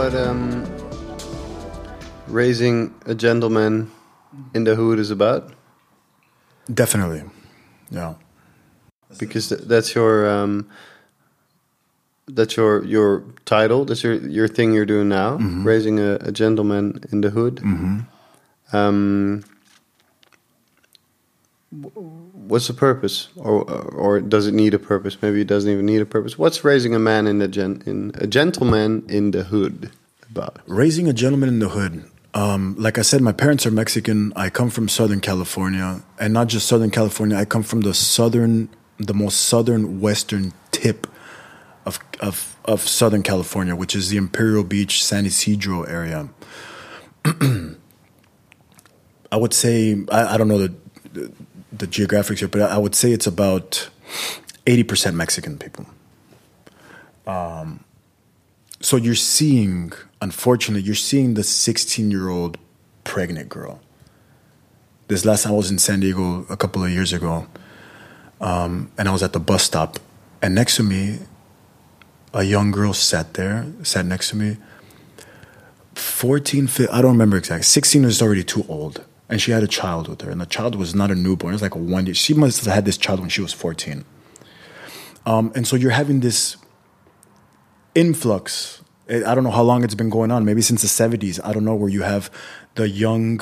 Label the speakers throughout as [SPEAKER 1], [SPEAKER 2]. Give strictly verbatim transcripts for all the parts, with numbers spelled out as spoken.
[SPEAKER 1] what um, raising a gentleman in the hood is about?
[SPEAKER 2] Definitely, yeah.
[SPEAKER 1] Because th- that's your um, that's your your title. That's your your thing you're doing now. Mm-hmm. Raising a, a gentleman in the hood.
[SPEAKER 2] Mm-hmm.
[SPEAKER 1] Um, what's the purpose, or or does it need a purpose? Maybe it doesn't even need a purpose. What's raising a man in the gen in a gentleman in the hood about?
[SPEAKER 2] Raising a gentleman in the hood. Um, like I said, my parents are Mexican. I come from Southern California, and not just Southern California. I come from the southern, the most southern western tip of of of Southern California, which is the Imperial Beach, San Isidro area. I would say I, I don't know the, the the geographics here, but I would say it's about eighty percent Mexican people. Um, so you're seeing, unfortunately, you're seeing the sixteen-year-old pregnant girl. This last time I was in San Diego a couple of years ago, um, and I was at the bus stop, and next to me, a young girl sat there, sat next to me. fourteen, fifteen, I don't remember exactly. sixteen is already too old. And she had a child with her. And the child was not a newborn. It was like a one year. She must have had this child when she was fourteen. Um, and so you're having this influx. I don't know how long it's been going on. Maybe since the seventies. I don't know, where you have the young,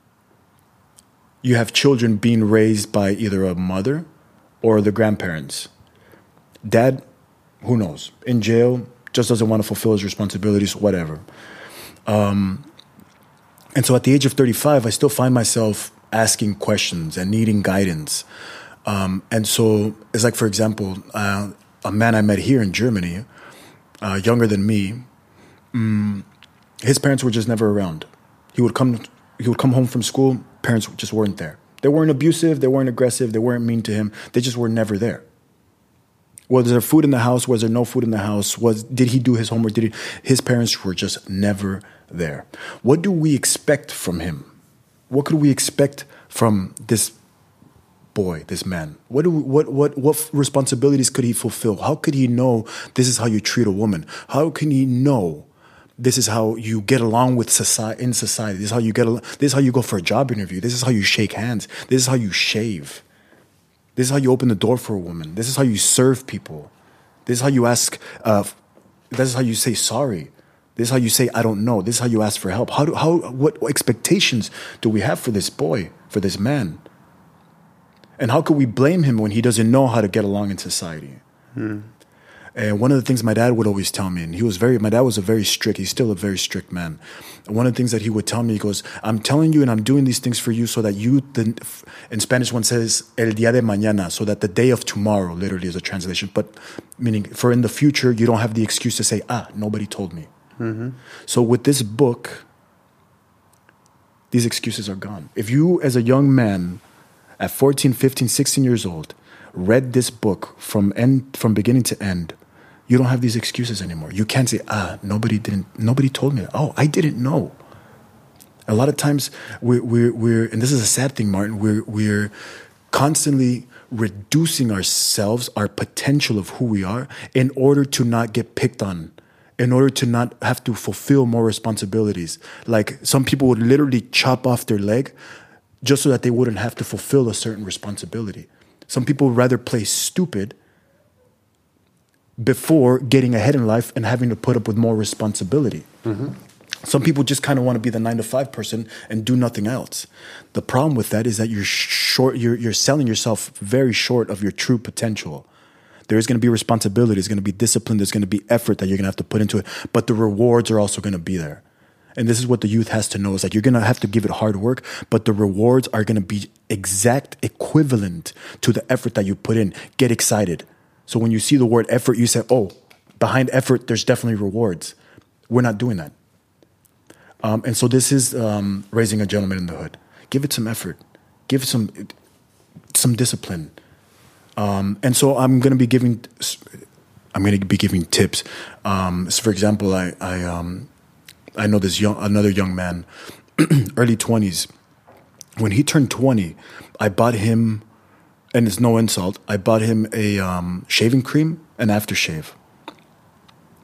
[SPEAKER 2] you have children being raised by either a mother or the grandparents. Dad, who knows? In jail, just doesn't want to fulfill his responsibilities, whatever. Um... And so at the age of thirty-five, I still find myself asking questions and needing guidance. Um, and so it's like, for example, uh, a man I met here in Germany, uh, younger than me, um, his parents were just never around. He would come he would come home from school, parents just weren't there. They weren't abusive, they weren't aggressive, they weren't mean to him. They just were never there. Was there food in the house? Was there no food in the house? Was did he do his homework? Did he? His parents were just never there. What do we expect from him? What could we expect from this boy, this man? What do we, what what what responsibilities could he fulfill? How could he know this is how you treat a woman? How can he know this is how you get along with society in society? This is how you get along, this is how you go for a job interview. This is how you shake hands. This is how you shave. This is how you open the door for a woman. This is how you serve people. This is how you ask. Uh, this is how you say sorry. This is how you say I don't know. This is how you ask for help. How do how what expectations do we have for this boy, for this man? And how could we blame him when he doesn't know how to get along in society? Hmm. And one of the things my dad would always tell me, and he was very, my dad was a very strict, he's still a very strict man. And one of the things that he would tell me, he goes, I'm telling you and I'm doing these things for you so that you, the, in Spanish one says, el día de mañana, so that the day of tomorrow, literally is a translation, but meaning for in the future, you don't have the excuse to say, ah, nobody told me. Mm-hmm. So with this book, these excuses are gone. If you, as a young man, at fourteen, fifteen, sixteen years old, read this book from end, from beginning to end, you don't have these excuses anymore. You can't say, ah, nobody didn't, nobody told me. Oh, I didn't know. A lot of times we're, we're, we're and this is a sad thing, Martin, we're, we're constantly reducing ourselves, our potential of who we are, in order to not get picked on, in order to not have to fulfill more responsibilities. Like some people would literally chop off their leg just so that they wouldn't have to fulfill a certain responsibility. Some people would rather play stupid before getting ahead in life and having to put up with more responsibility. Mm-hmm. Some people just kind of want to be the nine to five person and do nothing else. The problem with that is that you're short. You're you're selling yourself very short of your true potential. There is going to be responsibility. There's going to be discipline. There's going to be effort that you're going to have to put into it. But the rewards are also going to be there. And this is what the youth has to know. Is like you're going to have to give it hard work, but the rewards are going to be exact equivalent to the effort that you put in. Get excited. So when you see the word effort, you say, oh, behind effort, there's definitely rewards. We're not doing that. Um, and so this is um, raising a gentleman in the hood. Give it some effort. Give some some discipline. Um, and so I'm going to be giving I'm going to be giving tips. Um, so for example, I I, um, I know this young another young man, early twenties. When he turned twenty, I bought him. And it's no insult, I bought him a um, shaving cream and aftershave.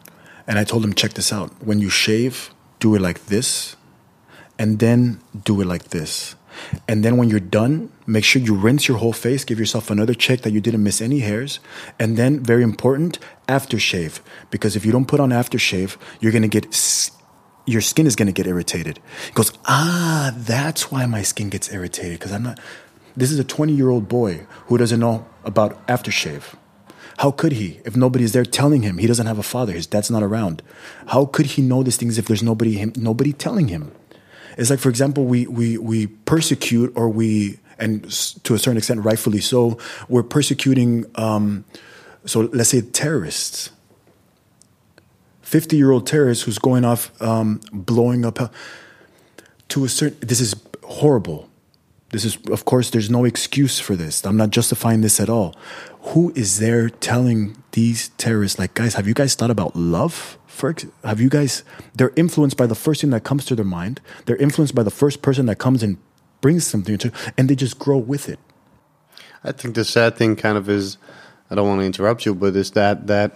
[SPEAKER 2] And I told him, check this out. When you shave, do it like this, and then do it like this. And then when you're done, make sure you rinse your whole face, give yourself another check that you didn't miss any hairs. And then, very important, aftershave. Because if you don't put on aftershave, you're going to get, your skin is going to get irritated. He goes, ah, that's why my skin gets irritated. Because I'm not, this is a twenty-year-old boy who doesn't know about aftershave. How could he if nobody's there telling him? He doesn't have a father. His dad's not around. How could he know these things if there's nobody him, nobody telling him? It's like, for example, we we we persecute, or we, and to a certain extent, rightfully so, we're persecuting, um, so let's say terrorists. fifty-year-old terrorist who's going off, um, blowing up, to a certain, this is horrible. This is, of course, there's no excuse for this. I'm not justifying this at all. Who is there telling these terrorists, like, guys, have you guys thought about love? For, have you guys, they're influenced by the first thing that comes to their mind. They're influenced by the first person that comes and brings something to, and they just grow with it.
[SPEAKER 1] I think the sad thing kind of is, I don't want to interrupt you, but is that, that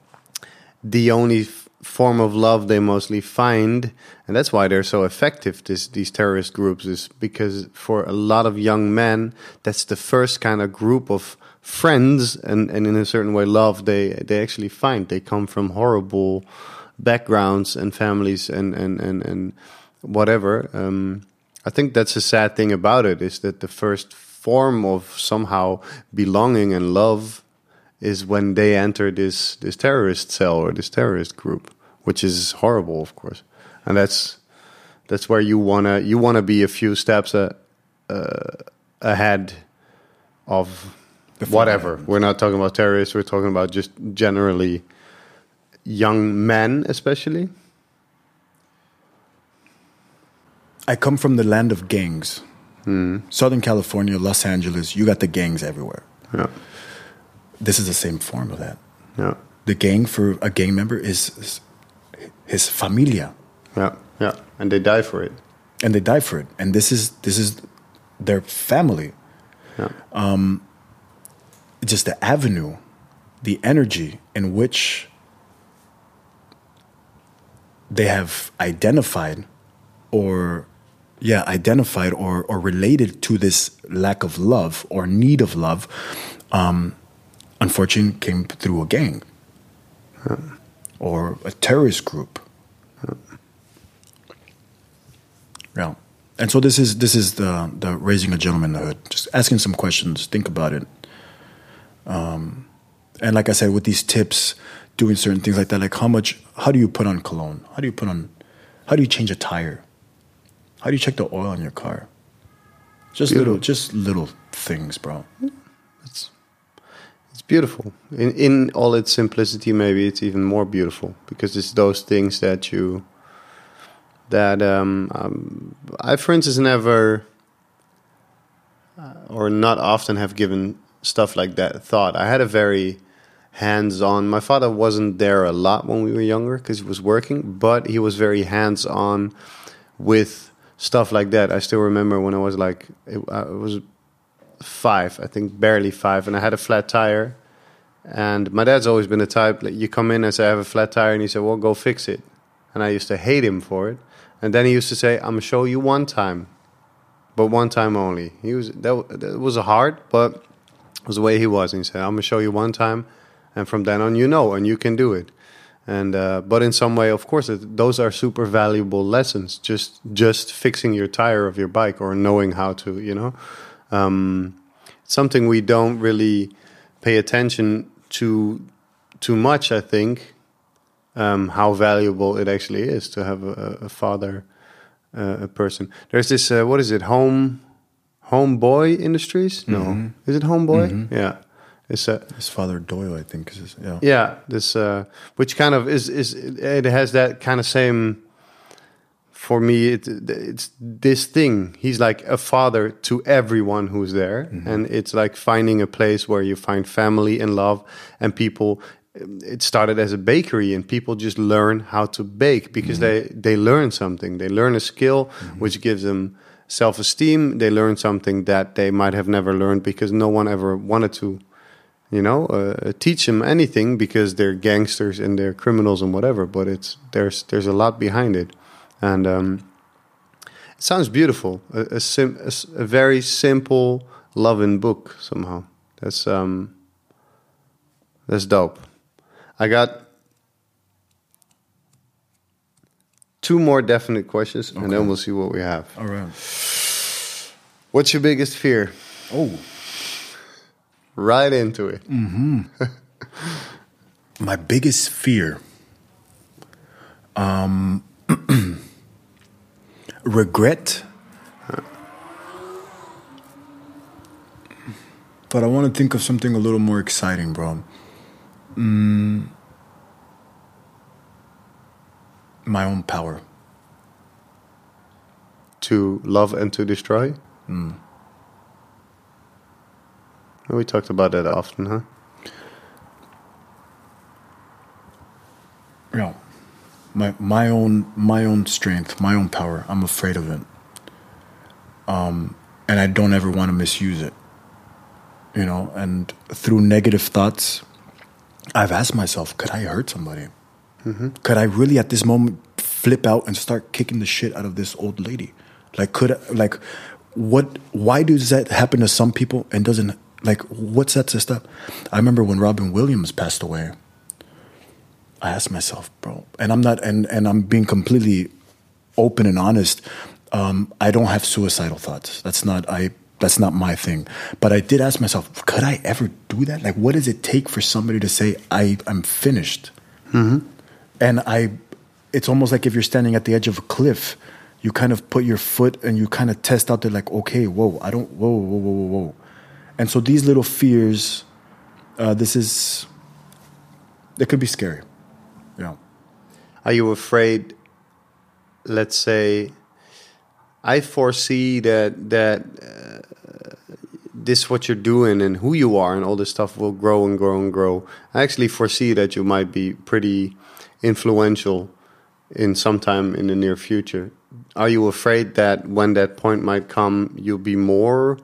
[SPEAKER 1] the only f- form of love they mostly find, and that's why they're so effective, this, these terrorist groups, is because for a lot of young men, that's the first kind of group of friends and, and in a certain way love they, they actually find. They come from horrible backgrounds and families and, and, and, and whatever. Um, I think that's a sad thing about it, is that the first form of somehow belonging and love is when they enter this, this terrorist cell or this terrorist group, which is horrible, of course. And that's that's where you wanna you wanna be a few steps a, uh, ahead of whatever. We're not talking about terrorists. We're talking about just generally young men, especially.
[SPEAKER 2] I come from the land of gangs.
[SPEAKER 1] Hmm.
[SPEAKER 2] Southern California, Los Angeles, you got the gangs everywhere.
[SPEAKER 1] Yeah.
[SPEAKER 2] This is the same form of that.
[SPEAKER 1] Yeah.
[SPEAKER 2] The gang for a gang member is, is his familia.
[SPEAKER 1] Yeah, yeah. And they die for it.
[SPEAKER 2] And they die for it. And this is this is their family.
[SPEAKER 1] Yeah.
[SPEAKER 2] Um, just the avenue, the energy in which they have identified or yeah, identified or, or related to this lack of love or need of love, um, unfortunately came through a gang
[SPEAKER 1] yeah.
[SPEAKER 2] or a terrorist group.
[SPEAKER 1] Yeah.
[SPEAKER 2] yeah. And so this is this is the the raising a gentleman in the hood. Just asking some questions, think about it. Um, and like I said, with these tips, doing certain things like that, like how much, how do you put on cologne? How do you put on, how do you change a tire? How do you check the oil on your car? Just beautiful. little, just little things, bro.
[SPEAKER 1] It's it's beautiful. In in all its simplicity, maybe it's even more beautiful because it's those things that you that um, um I, for instance, never uh, or not often have given stuff like that thought. I had a very hands-on. My father wasn't there a lot when we were younger because he was working, but he was very hands-on with stuff like that. I still remember when I was like, it, I was five, I think barely five, and I had a flat tire. And my dad's always been the type, like, you come in and say, I have a flat tire, and he said, well, go fix it. And I used to hate him for it. And then he used to say, I'm going to show you one time, but one time only. He was that, that was hard, but it was the way he was. And he said, I'm going to show you one time, and from then on, you know, and you can do it. And uh, but in some way, of course, it, those are super valuable lessons. Just just fixing your tire of your bike or knowing how to, you know, um, it's something we don't really pay attention to too much. I think um, how valuable it actually is to have a, a father, uh, a person. There's this uh, what is it? Home Homeboy Industries? No, mm-hmm. Is it Homeboy? Mm-hmm. Yeah. It's uh,
[SPEAKER 2] his father Doyle, I think. Is, yeah,
[SPEAKER 1] yeah. This, uh, which kind of is is it has that kind of same. For me, it, it's this thing. He's like a father to everyone who's there, mm-hmm. and it's like finding a place where you find family and love, and people. It started as a bakery, and people just learn how to bake because mm-hmm. they they learn something. They learn a skill, mm-hmm. which gives them self-esteem. They learn something that they might have never learned because no one ever wanted to You know, uh, teach them anything because they're gangsters and they're criminals and whatever. But it's there's there's a lot behind it, and um, it sounds beautiful. A, a, sim, a, a very simple, loving book somehow. That's um, that's dope. I got two more definite questions, okay. and then we'll see what we have.
[SPEAKER 2] All right.
[SPEAKER 1] What's your biggest fear?
[SPEAKER 2] Oh.
[SPEAKER 1] Right into it.
[SPEAKER 2] Mm-hmm. My biggest fear, um, regret. But I want to think of something a little more exciting, bro. Mm, my own power.
[SPEAKER 1] To love and to destroy?
[SPEAKER 2] Mm.
[SPEAKER 1] We talked about that often, huh?
[SPEAKER 2] Yeah. My my own my own strength, my own power. I'm afraid of it. Um, and I don't ever want to misuse it. You know, and through negative thoughts, I've asked myself, could I hurt somebody? Mm-hmm. Could I really at this moment flip out and start kicking the shit out of this old lady? Like, could I, like, what, why does that happen to some people and doesn't, like, what sets us up? I remember when Robin Williams passed away, I asked myself, bro, and I'm not, and, and I'm being completely open and honest. Um, I don't have suicidal thoughts. That's not, I, that's not my thing. But I did ask myself, could I ever do that? Like, what does it take for somebody to say, I, I'm finished? Mm-hmm. And I, it's almost like if you're standing at the edge of a cliff, you kind of put your foot and you kind of test out there like, okay, whoa, I don't, whoa, whoa, whoa, whoa, whoa. And so these little fears, uh, this is, it could be scary. Yeah.
[SPEAKER 1] Are you afraid, let's say, I foresee that that uh, this what you're doing and who you are and all this stuff will grow and grow and grow. I actually foresee that you might be pretty influential in some time in the near future. Are you afraid that when that point might come, you'll be more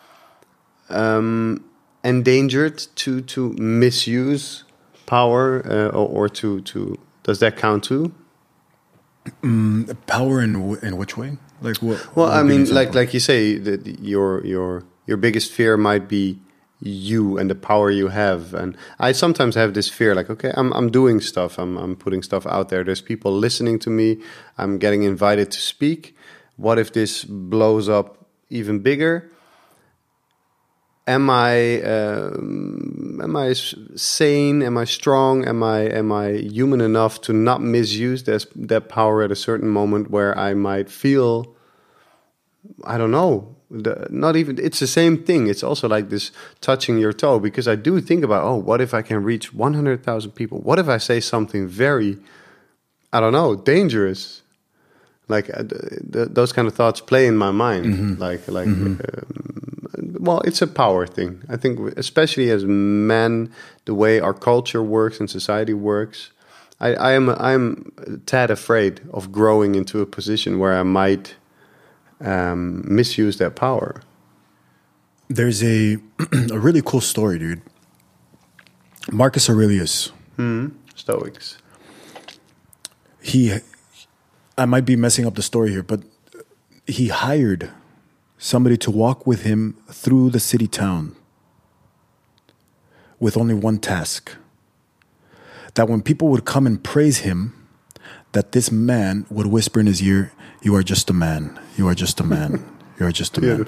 [SPEAKER 1] um, endangered to to misuse power uh, or, or to to does that count too?
[SPEAKER 2] Mm, power in w- in which way? Like what?
[SPEAKER 1] Well,
[SPEAKER 2] what
[SPEAKER 1] I mean, like like you say, that your your your biggest fear might be you and the power you have. And I sometimes have this fear, like, okay, I'm I'm doing stuff, I'm I'm putting stuff out there. There's people listening to me. I'm getting invited to speak. What if this blows up even bigger? Am I um, am I sane? Am I strong? Am I am I human enough to not misuse this, that power at a certain moment where I might feel, I don't know, the, not even, it's the same thing. It's also like this touching your toe, because I do think about, oh, what if I can reach one hundred thousand people? What if I say something very, I don't know, dangerous? Like uh, th- those kind of thoughts play in my mind. Mm-hmm. Like like. Mm-hmm. Um, Well, it's a power thing. I think, especially as men, the way our culture works and society works, I, I am I'm tad afraid of growing into a position where I might um, misuse that power.
[SPEAKER 2] There's a a really cool story, dude. Marcus Aurelius,
[SPEAKER 1] Mm-hmm. Stoics.
[SPEAKER 2] He, I might be messing up the story here, but he hired somebody to walk with him through the city town with only one task. That when people would come and praise him, that this man would whisper in his ear, "You are just a man. You are just a man. You are just a man."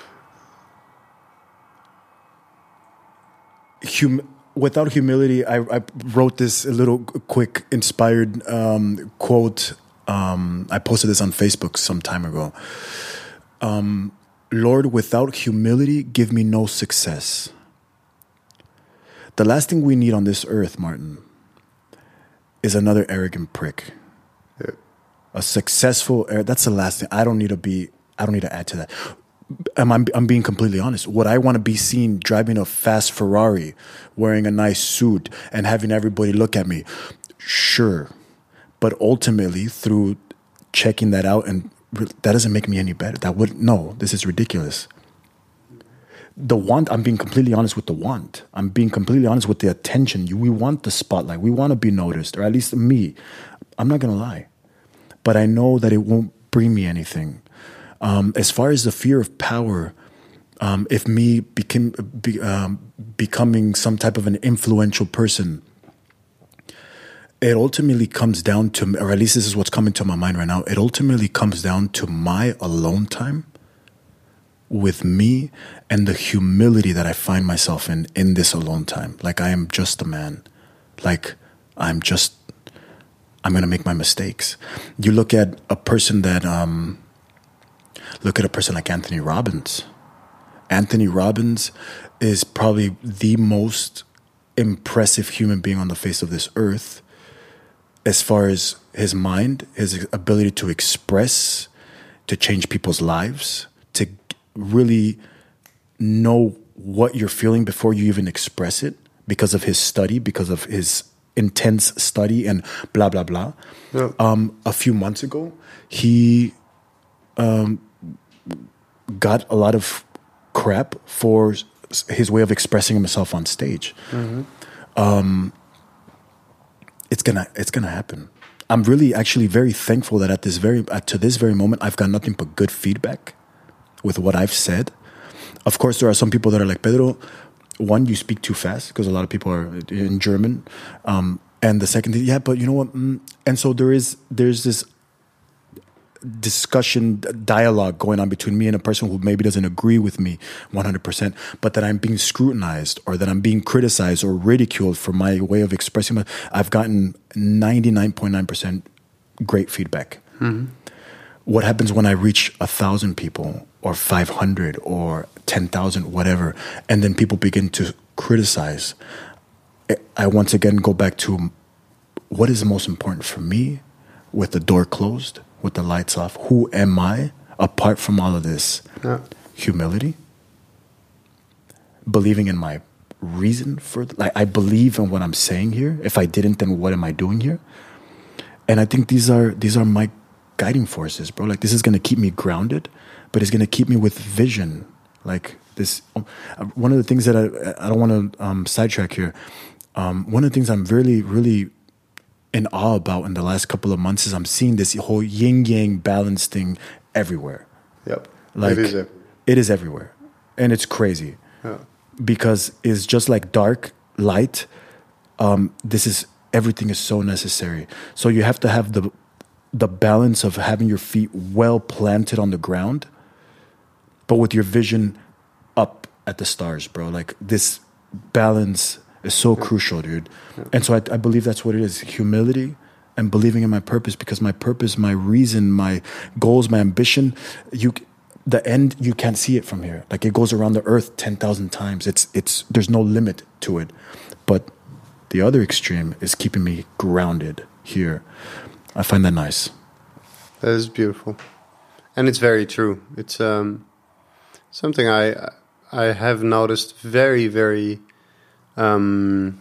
[SPEAKER 2] Hum- without humility, I, I wrote this a little quick inspired um, quote. Um, I posted this on Facebook some time ago. Um, Lord, without humility, give me no success. The last thing we need on this earth, Martin, is another arrogant prick. Yeah. A successful, that's the last thing. I don't need to be, I don't need to add to that. I'm, I'm, I'm being completely honest. Would I want to be seen driving a fast Ferrari, wearing a nice suit, and having everybody look at me? Sure. But ultimately, through checking that out, and that doesn't make me any better. That would, no, this is ridiculous. the want, I'm being completely honest with the want. I'm being completely honest with the attention. You, we want the spotlight. We want to be noticed, or at least me. I'm not going to lie. But I know that it won't bring me anything. Um, as far as the fear of power, um, if me became, be, um, becoming some type of an influential person, it ultimately comes down to, or at least this is what's coming to my mind right now, it ultimately comes down to my alone time with me and the humility that I find myself in in this alone time. Like, I am just a man. Like, I'm just, I'm going to make my mistakes. You look at a person that, um, look at a person like Anthony Robbins. Anthony Robbins is probably the most impressive human being on the face of this earth as far as his mind, his ability to express, to change people's lives, to really know what you're feeling before you even express it, because of his study, because of his intense study and blah, blah, blah. Yeah. Um, a few months ago, he um, got a lot of crap for his way of expressing himself on stage. Mm-hmm. Um, it's gonna, it's gonna happen. I'm really actually very thankful that at this very, at, to this very moment, I've got nothing but good feedback with what I've said. Of course, there are some people that are like, Pedro, one, you speak too fast, because a lot of people are in German. Um, and the second thing, yeah, but you know what? Mm, and so there is, there's this discussion, dialogue going on between me and a person who maybe doesn't agree with me one hundred percent, but that I'm being scrutinized, or that I'm being criticized or ridiculed for my way of expressing my, I've gotten ninety-nine point nine percent great feedback. Mm-hmm. What happens when I reach a thousand people or five hundred or ten thousand, whatever, and then people begin to criticize? I once again go back to what is most important for me, with the door closed, with the lights off. Who am I apart from all of this? Yeah. Humility, believing in my reason for, like, I believe in what I'm saying here. If I didn't, then what am I doing here? And I think these are these are my guiding forces, bro. Like, this is going to keep me grounded, but it's going to keep me with vision. Like this, one of the things that I, I don't want to um, sidetrack here. Um, one of the things I'm really, really in awe about in the last couple of months is I'm seeing this whole yin yang balance thing everywhere.
[SPEAKER 1] Yep.
[SPEAKER 2] Like,
[SPEAKER 1] it is everywhere.
[SPEAKER 2] It is everywhere. And it's crazy. Yeah. Because it's just like dark, light. Um, this is, everything is so necessary. So you have to have the the balance of having your feet well planted on the ground, but with your vision up at the stars, bro. Like, this balance is so yeah. crucial, dude. Yeah. And so I, I believe that's what it is. Humility and believing in my purpose, because my purpose, my reason, my goals, my ambition, you, the end, you can't see it from here. Like, it goes around the earth ten thousand times. It's, it's, there's no limit to it. But the other extreme is keeping me grounded here. I find that nice.
[SPEAKER 1] That is beautiful. And it's very true. It's um, something I I have noticed very, very um,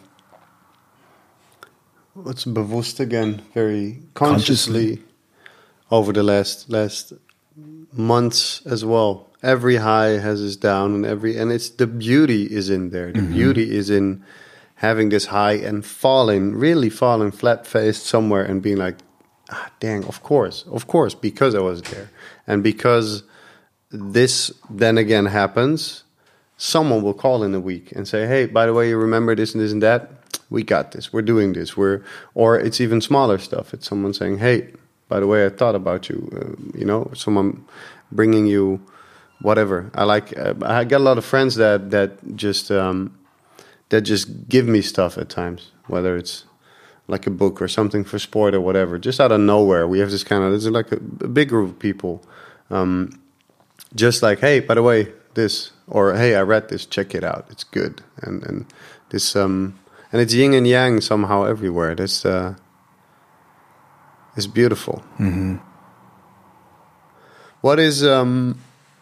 [SPEAKER 1] what's bewusst again? Very consciously, consciously over the last last months as well. Every high has its down, and every and it's the beauty is in there. The mm-hmm. beauty is in having this high and falling, really falling flat faced somewhere and being like, ah, dang, of course, of course, because I was there. And because this then again happens, someone will call in a week and say, hey, by the way, you remember this and this and that? We got this. We're doing this. We're, or it's even smaller stuff. It's someone saying, hey, by the way, I thought about you. Uh, you know, someone bringing you whatever. I like, uh, I got a lot of friends that, that just, um, that just give me stuff at times, whether it's like a book or something for sport or whatever, just out of nowhere. We have this kind of, there's like a, a big group of people, um, just like, hey, by the way, this, or hey, I read this, check it out, it's good. And and this, um, and it's yin and yang somehow everywhere. This uh, is beautiful. Mm-hmm. What is, um,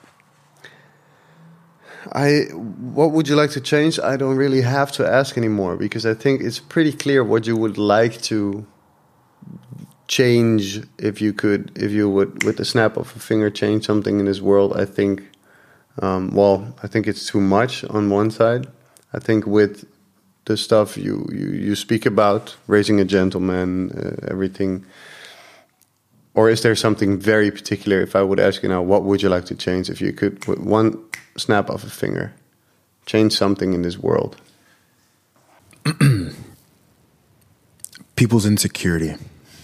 [SPEAKER 1] I, what would you like to change? I don't really have to ask anymore, because I think it's pretty clear what you would like to change if you could, if you would, with the snap of a finger, change something in this world. I think Um, well, I think it's too much on one side. I think with the stuff you, you, you speak about, raising a gentleman, uh, everything, or is there something very particular? If I would ask you now, what would you like to change if you could, with one snap of a finger, change something in this world?
[SPEAKER 2] People's insecurity.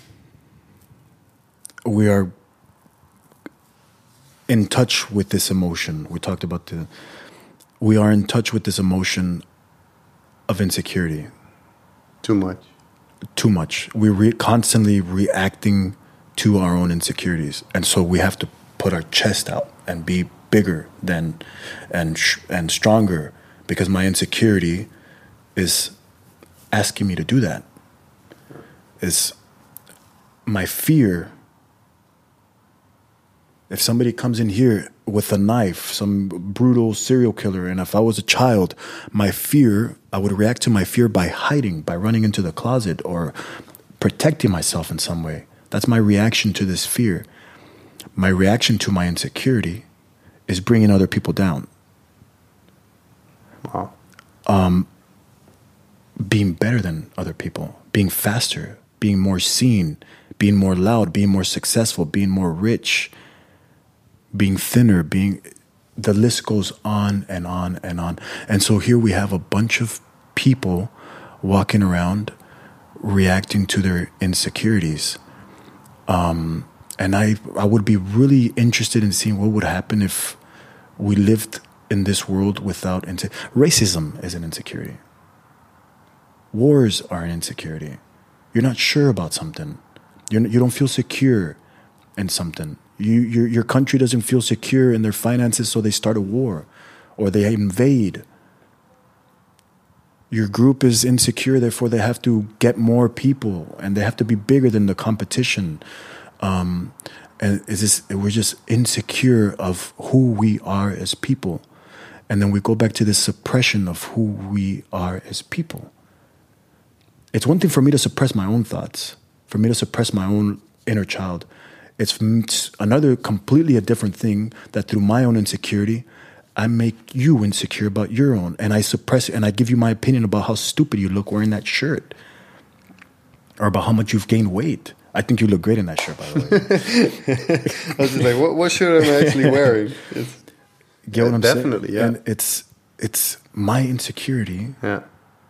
[SPEAKER 2] We are in touch with this emotion. We talked about the, we are in touch with this emotion of insecurity.
[SPEAKER 1] Too much.
[SPEAKER 2] Too much. We're re- constantly reacting to our own insecurities. And so we have to put our chest out and be bigger than, and, sh- and stronger, because my insecurity is asking me to do that. Is my fear. If somebody comes in here with a knife, some brutal serial killer, and if I was a child, my fear, I would react to my fear by hiding, by running into the closet or protecting myself in some way. That's my reaction to this fear. My reaction to my insecurity is bringing other people down.
[SPEAKER 1] Wow.
[SPEAKER 2] Um, being better than other people, being faster, being more seen, being more loud, being more successful, being more rich, being thinner, being, the list goes on and on and on. And so here we have a bunch of people walking around reacting to their insecurities. Um, and I, I would be really interested in seeing what would happen if we lived in this world without inse- racism is an insecurity. Wars are an insecurity. You're not sure about something. You're, you don't feel secure in something. You, your, your country doesn't feel secure in their finances, so they start a war or they invade. Your group is insecure, therefore they have to get more people and they have to be bigger than the competition. Um, and is this, we're just insecure of who we are as people. And then we go back to this suppression of who we are as people. It's one thing for me to suppress my own thoughts, for me to suppress my own inner child. It's another completely a different thing that through my own insecurity, I make you insecure about your own. And I suppress it and I give you my opinion about how stupid you look wearing that shirt. Or about how much you've gained weight. I think you look great in that shirt, by the way.
[SPEAKER 1] I was just like, what, what shirt am I actually wearing? It's,
[SPEAKER 2] Get what I'm
[SPEAKER 1] definitely,
[SPEAKER 2] saying?
[SPEAKER 1] yeah.
[SPEAKER 2] And it's, it's my insecurity.
[SPEAKER 1] Yeah.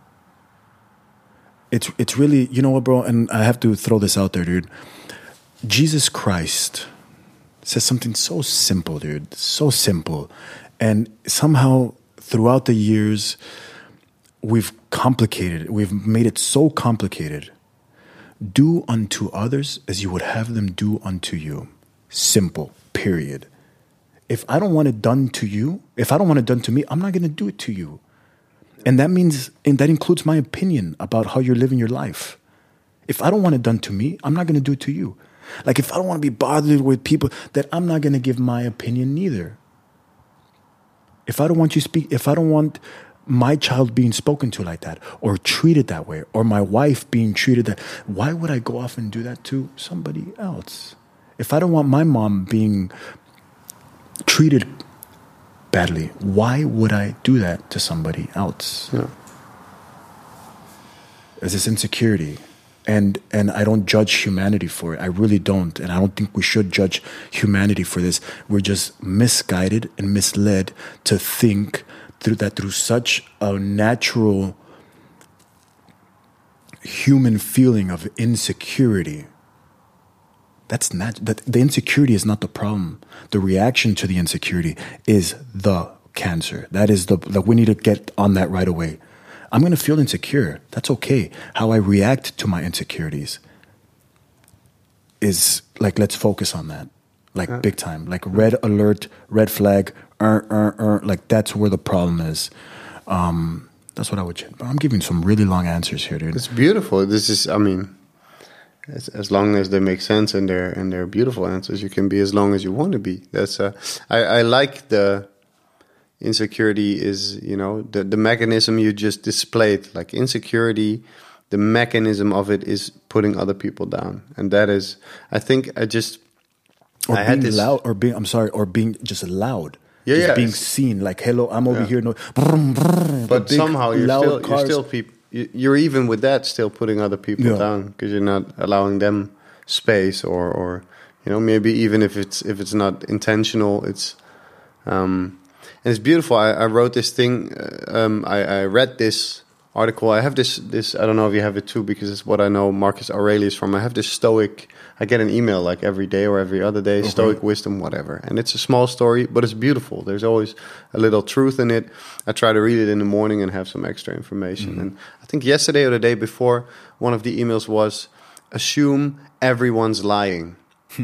[SPEAKER 2] It's, it's really, you know what, bro? And I have to throw this out there, dude. Jesus Christ says something so simple, dude, so simple. And somehow throughout the years, we've complicated it. We've made it so complicated. Do unto others as you would have them do unto you. Simple, period. If I don't want it done to you, if I don't want it done to me, I'm not going to do it to you. And that means, and that includes my opinion about how you're living your life. If I don't want it done to me, I'm not going to do it to you. Like if I don't want to be bothered with people, that I'm not going to give my opinion neither. If I don't want you speak, if I don't want my child being spoken to like that or treated that way or my wife being treated that, why would I go off and do that to somebody else? If I don't want my mom being treated badly, why would I do that to somebody else?
[SPEAKER 1] Yeah.
[SPEAKER 2] There's this insecurity. And and I don't judge humanity for it. I really don't. And I don't think we should judge humanity for this. We're just misguided and misled to think through that through such a natural human feeling of insecurity. That's not that the insecurity is not the problem. The reaction to the insecurity is the cancer. That is the like we need to get on that right away. I'm going to feel insecure. That's okay. How I react to my insecurities is like, let's focus on that. Like uh, big time. Like red alert, red flag, er, er, er, like that's where the problem is. Um, that's what I would change. But I'm giving some really long answers here, dude.
[SPEAKER 1] It's beautiful. This is, I mean, as, as long as they make sense and they're, and they're beautiful answers, you can be as long as you want to be. That's, uh, I, I like the... Insecurity is, you know, the, the mechanism you just displayed. Like insecurity, the mechanism of it is putting other people down. And that is, I think I just...
[SPEAKER 2] Or
[SPEAKER 1] I
[SPEAKER 2] being
[SPEAKER 1] had this,
[SPEAKER 2] loud, or being, I'm sorry, or being just loud.
[SPEAKER 1] Yeah,
[SPEAKER 2] just
[SPEAKER 1] yeah,
[SPEAKER 2] being
[SPEAKER 1] it's-
[SPEAKER 2] seen. Like, hello, I'm over
[SPEAKER 1] Yeah.
[SPEAKER 2] here. No, brrr, brrr,
[SPEAKER 1] But
[SPEAKER 2] big,
[SPEAKER 1] somehow you're
[SPEAKER 2] loud
[SPEAKER 1] still you're
[SPEAKER 2] cars.
[SPEAKER 1] still peop- you- you're even with that still putting other people
[SPEAKER 2] Yeah.
[SPEAKER 1] down because you're not allowing them space or or you know maybe even if it's if it's not intentional, it's um and it's beautiful. I, I wrote this thing. uh, Um, I, I read this article. I have this this. I don't know if you have it too because it's what I know Marcus Aurelius from. I have this Stoic. I get an email like every day or every other day. Stoic wisdom, whatever. And it's a small story, but it's beautiful. There's always a little truth in it. I try to read it in the morning and have some extra information.
[SPEAKER 2] Mm-hmm.
[SPEAKER 1] And I think yesterday or the day before, one of the emails was assume everyone's lying.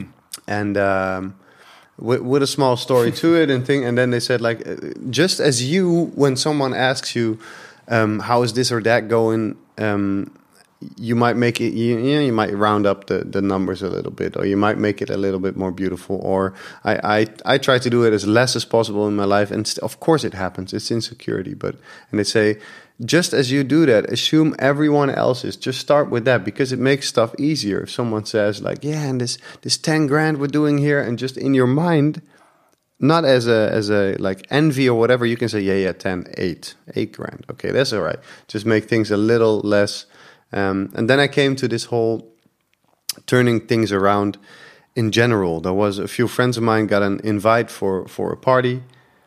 [SPEAKER 1] And um, with, with a small story to it and thing, and then they said like, uh, just as you, when someone asks you, um, how is this or that going, um, you might make it, you, you know, you might round up the, the numbers a little bit, or you might make it a little bit more beautiful. Or I, I, I try to do it as less as possible in my life, and st- of course it happens. It's insecurity, but and they say, just as you do that, assume everyone else is. Just start with that because it makes stuff easier. If someone says like, yeah, and this this ten grand we're doing here, and just in your mind, not as a as a like envy or whatever, you can say, yeah, yeah, ten, eight, eight grand. Okay, that's all right. Just make things a little less. Um, and then I came to this whole turning things around in general. There was a few friends of mine got an invite for, for a party,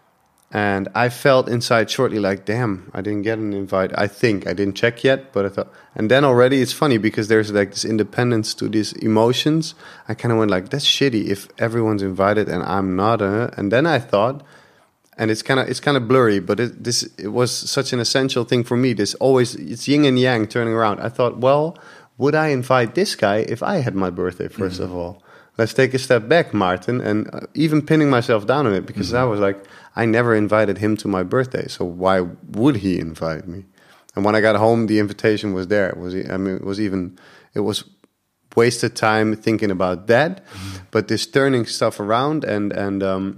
[SPEAKER 1] and I felt inside shortly like, damn, I didn't get an invite. I think I didn't check yet, but I thought, and then already it's funny because there's like this independence to these emotions. I kind of went like, that's shitty if everyone's invited and I'm not. Uh, and then I thought, and it's kind of it's kind of blurry, but it, this it was such an essential thing for me. This always it's yin and yang turning around. I thought, well, would I invite this guy if I had my birthday? First mm-hmm. of all, let's take a step back, Martin, and uh, even pinning myself down on it because mm-hmm. I was like, I never invited him to my birthday, so why would he invite me? And when I got home, the invitation was there. It was I mean, it was even it was wasted time thinking about that, mm-hmm. but this turning stuff around and and. Um,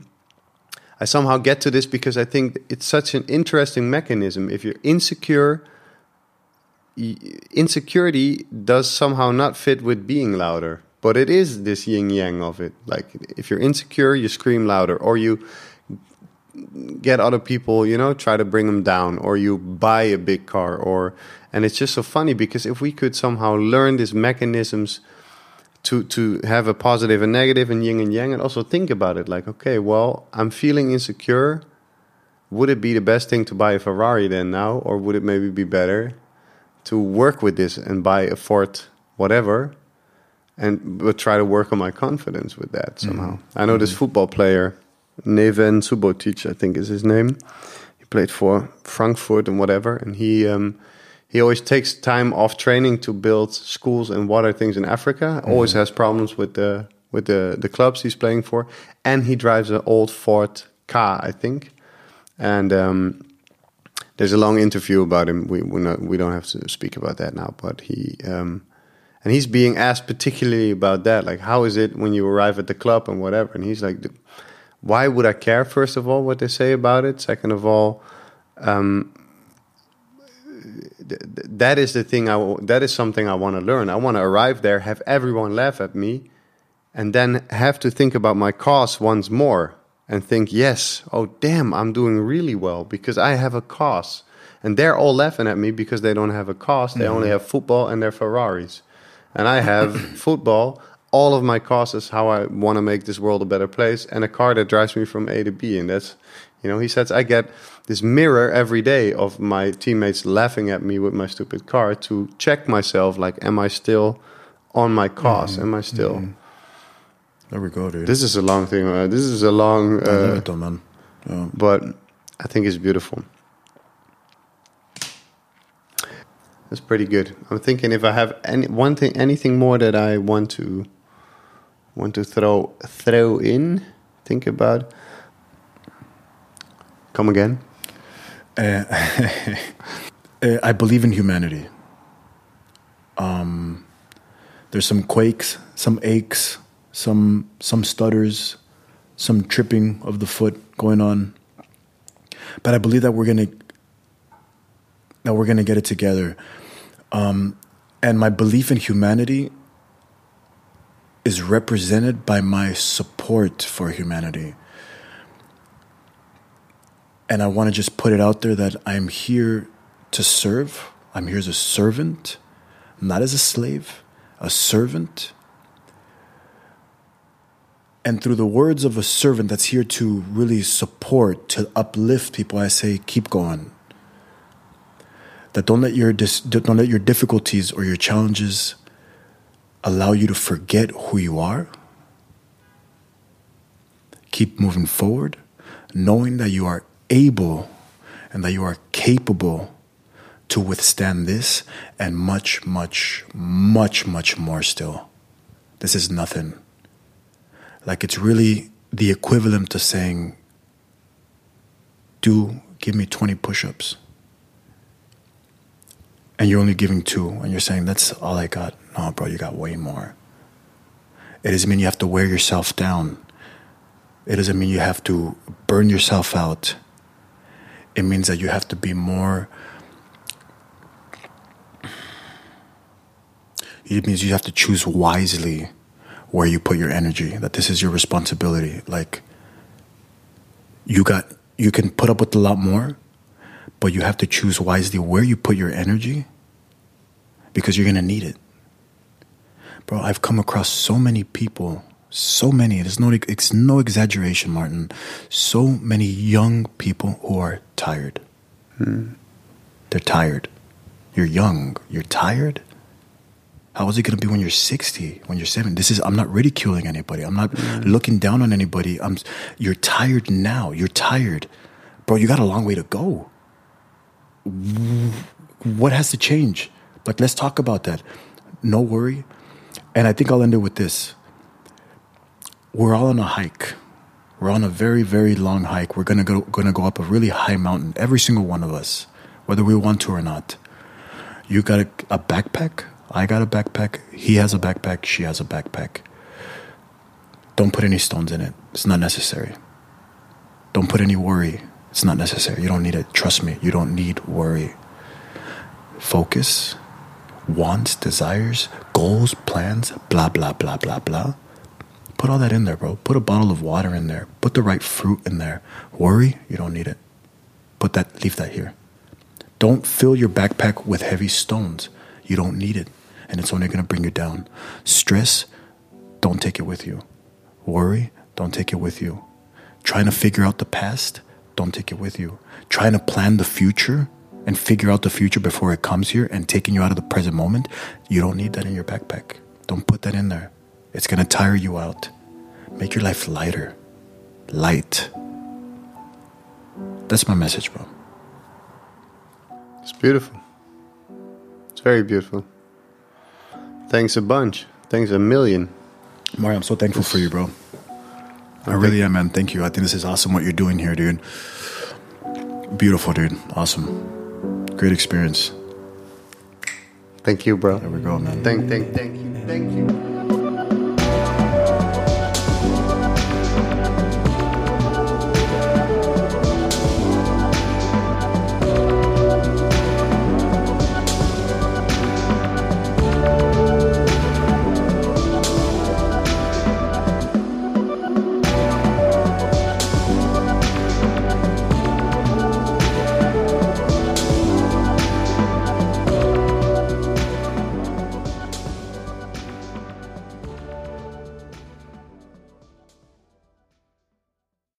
[SPEAKER 1] I somehow get to this because I think it's such an interesting mechanism. If you're insecure, insecurity does somehow not fit with being louder. But it is this yin-yang of it. Like, if you're insecure, you scream louder. Or you get other people, you know, try to bring them down. Or you buy a big car. Or And it's just so funny because if we could somehow learn these mechanisms to to have a positive and negative and yin and yang, and also think about it like, okay, well, I'm feeling insecure. Would it be the best thing to buy a Ferrari then now, or would it maybe be better to work with this and buy a Ford whatever, and but try to work on my confidence with that somehow? Mm-hmm. I know mm-hmm. this football player, Neven Subotic, I think is his name. He played for Frankfurt and whatever, and he um, he always takes time off training to build schools and water things in Africa. Mm-hmm. Always has problems with the with the the clubs he's playing for, and he drives an old Ford Ka, I think. And um, there's a long interview about him. We we not we don't have to speak about that now. But he um, and he's being asked particularly about that, like how is it when you arrive at the club and whatever. And he's like, why would I care? First of all, what they say about it. Second of all, um, th- that is the thing. I w- that is something I want to learn. I want to arrive there, have everyone laugh at me, and then have to think about my cause once more. And think, yes, oh, damn, I'm doing really well because I have a cause. And they're all laughing at me because they don't have a cause. They mm-hmm. only have football and their Ferraris. And I have football, all of my causes, how I want to make this world a better place, and a car that drives me from A to B. And that's, you know, he says, I get this mirror every day of my teammates laughing at me with my stupid car to check myself, like, am I still on my cause? Mm-hmm. Am I still... Mm-hmm.
[SPEAKER 2] There we go, dude.
[SPEAKER 1] This is a long thing. Uh, this is a long... Uh,
[SPEAKER 2] I love it though, man. Yeah.
[SPEAKER 1] But I think it's beautiful. That's pretty good. I'm thinking if I have any one thing, anything more that I want to want to throw throw in, think about. Come again.
[SPEAKER 2] Uh, uh, I believe in humanity. Um, there's some quakes, some aches, some some stutters, some tripping of the foot going on. But I believe that we're gonna that we're gonna get it together. Um, and my belief in humanity is represented by my support for humanity. And I want to just put it out there that I'm here to serve. I'm here as a servant, not as a slave, a servant. And through the words of a servant that's here to really support, to uplift people, I say, keep going. That don't let your dis- don't let your difficulties or your challenges allow you to forget who you are. Keep moving forward, knowing that you are able and that you are capable to withstand this and much, much, much, much more still. This is nothing. Like, it's really the equivalent to saying, do give me twenty push-ups. And you're only giving two, and you're saying, that's all I got. No, bro, you got way more. It doesn't mean you have to wear yourself down. It doesn't mean you have to burn yourself out. It means that you have to be more... It means you have to choose wisely where you put your energy, that this is your responsibility. Like, you got, you can put up with a lot more, but you have to choose wisely where you put your energy, because you're going to need it. Bro, I've come across so many people, so many, it's no, it's no exaggeration, Martin, so many young people who are tired. Hmm. They're tired. You're young. You're tired? How is it going to be when you're sixty, when you're seventy? This is, I'm not ridiculing anybody. I'm not mm. looking down on anybody. I'm, you're tired now. You're tired. Bro, you got a long way to go. What has to change? Like, let's talk about that. No worry. And I think I'll end it with this. We're all on a hike. We're on a very, very long hike. We're going to go going to go up a really high mountain, every single one of us, whether we want to or not. You got a, a backpack? I got a backpack. He has a backpack. She has a backpack. Don't put any stones in it. It's not necessary. Don't put any worry. It's not necessary. You don't need it. Trust me. You don't need worry. Focus, wants, desires, goals, plans, blah, blah, blah, blah, blah. Put all that in there, bro. Put a bottle of water in there. Put the right fruit in there. Worry, you don't need it. Put that, leave that here. Don't fill your backpack with heavy stones. You don't need it. And it's only going to bring you down. Stress, don't take it with you. Worry, don't take it with you. Trying to figure out the past, don't take it with you. Trying to plan the future and figure out the future before it comes here and taking you out of the present moment, you don't need that in your backpack. Don't put that in there. It's going to tire you out. Make your life lighter. Light. That's my message, bro.
[SPEAKER 1] It's beautiful. It's very beautiful. Thanks a bunch. Thanks a million.
[SPEAKER 2] Mario, I'm so thankful for you, bro. I really am, man. Thank you. I think this is awesome what you're doing here, dude. Beautiful, dude. Awesome. Great experience.
[SPEAKER 1] Thank you, bro.
[SPEAKER 2] There we go, man.
[SPEAKER 1] Thank, thank, thank you. Thank you.